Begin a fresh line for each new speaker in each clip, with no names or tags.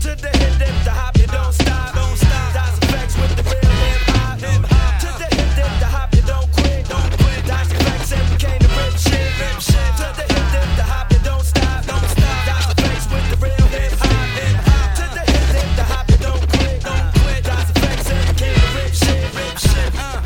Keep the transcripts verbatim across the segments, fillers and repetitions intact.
To the hip, dip, the hop, you don't stop. Don't stop. Das Effects with the real hip hop. Hip hop. To the hip, dip, the hop, you don't quit. Don't quit. Das Effects and we came to rip shit. Rip shit. To the hip, dip, the hop, you don't stop. Don't stop. Das Effects with the real hip hop. Hip hop. To the hip, dip, the hop, you don't quit. Don't quit. Das Effects and we came to rip shit. Rip shit. Uh.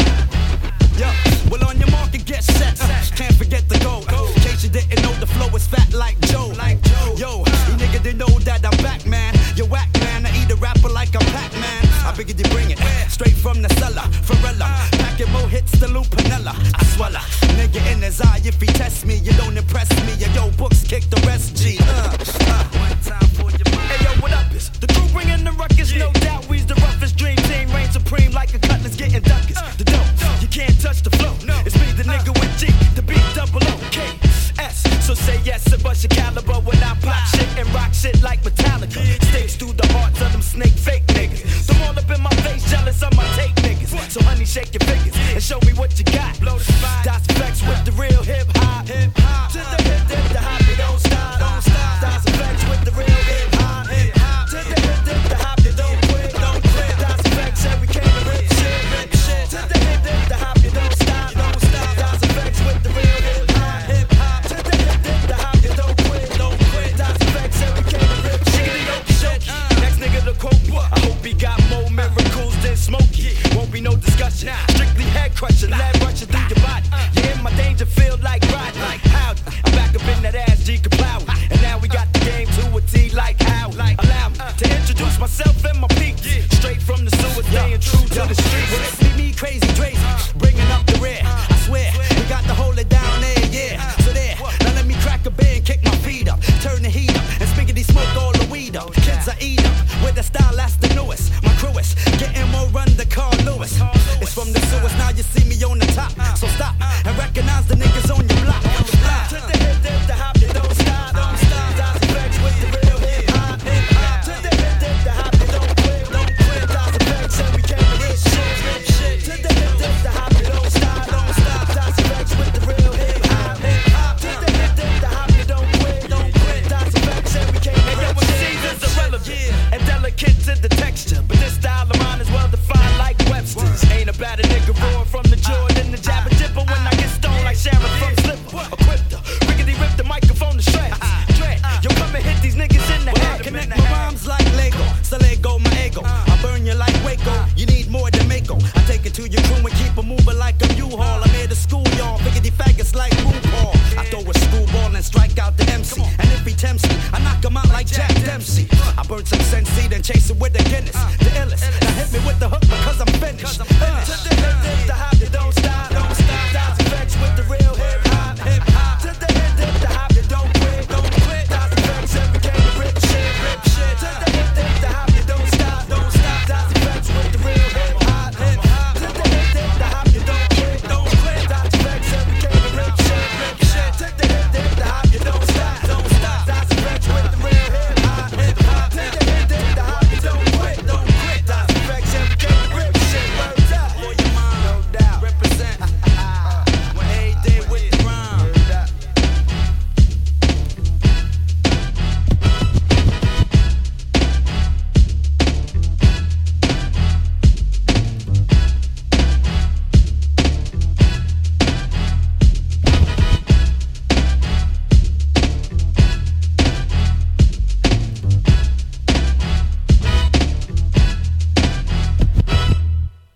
Yo, well on your mark and get set. Can't forget the goal. In case you didn't know, the flow is fat like Joe. Yo, you nigga didn't know that I'm back, man. You whack, man. I eat a rapper like I'm Pac-Man. I figured you bring it straight from the cellar. Pharrella, packing more hits than Lou Panella. I swallow, nigga in his eye. If he test me, you don't impress me. Yo, yo, books kick the rest, G. Uh, uh. One time for your mind.
Hey, yo, what up is the crew bringing the ruckus? No doubt we's the roughest. Dream team reign supreme like a cutlass getting duckers. The dope, you can't touch the flow. It's me, the nigga with G, the beat double O K S. So say yes and bust your caliber when I pop shit and rock shit like Metallica. Stakes through the hearts of them snake fake niggas. Them all up in my face, jealous of my take niggas. So honey, shake your fingers and show me what you got. Blow the spot. Das Effects with the real hip hop. Hip hop. To the hip, dip, the hop, you don't stop. Don't stop. Das Effects with the real hip hop. Hip hop. To the hip, dip, the hop, you don't quit. Don't quit. Das Effects and we came to rip shit. Rip shit. To the hip, dip, the hop, you don't stop. Don't stop. Das Effects with the real hip hop. Hip hop. To the hip, dip, the hop, you don't quit. Don't quit. Das Effects and we came to rip shit. Shit. Next nigga to quote me. I hope he got more miracles than Smokey. Won't be no discussion. Strictly head crusher, lead rushing through your body. You in my danger field like Rodney. Howdy. I'm back up in that ass, G Kaplow. And now we got the game to a T like how. Allow me to introduce myself and my peeps. Straight from the sewer, staying true to the streets.
Well, it's me, me, crazy Tracy, bringing up the rear. I swear, we got to hold it down there, yeah. So there, now let me crack a beer and kick my feet up. Turn the heat up and spiggity smoke all the weed up. Kids I eat up with the style that's the newest. My crew is getting more run than Carl Lewis. It's from the sewers, now you see me on the top. So stop and recognize the niggas on your block.
To the hip, dip, the hop, you don't stop. Don't stop. Das Effects with the real hip hop. Hip hop. To the hip, dip, the hop, you don't quit. Don't quit. Das Effects and we came to rip shit. Rip shit. To the hip, dip, the hop, you don't stop. Don't stop. Das Effects with the real hip hop. Hip hop. To the hip, dip, the hop, you don't quit. Don't quit. Das Effects and we came to rip shit. Hey, yo, M Cs is irrelevant and delicate to the texture, but this style of mine is well defined like Webster's. Ain't about a nigga roar from the Jordan, the jabber jibber when I get stoned like Sharon from Slipper. Equipped her, rickety rip the microphone to shreds. Dread, yo, come and hit these niggas in the head.
Connect my rhymes like Lego, so let go my ego. I burn you like Waco, you need more than Mako. I take it to your crew and keep it moving like a U-Haul. I'm here to school y'all, biggity faggots like RuPaul. I throw a school ball and strike out the M C. And if he tempts me, I knock him out like Jack Dempsey. I burn some Sensi, then chase it with a Guinness. The illest, now hit me with the hook because I'm finished.
To the hip, dip, the hop,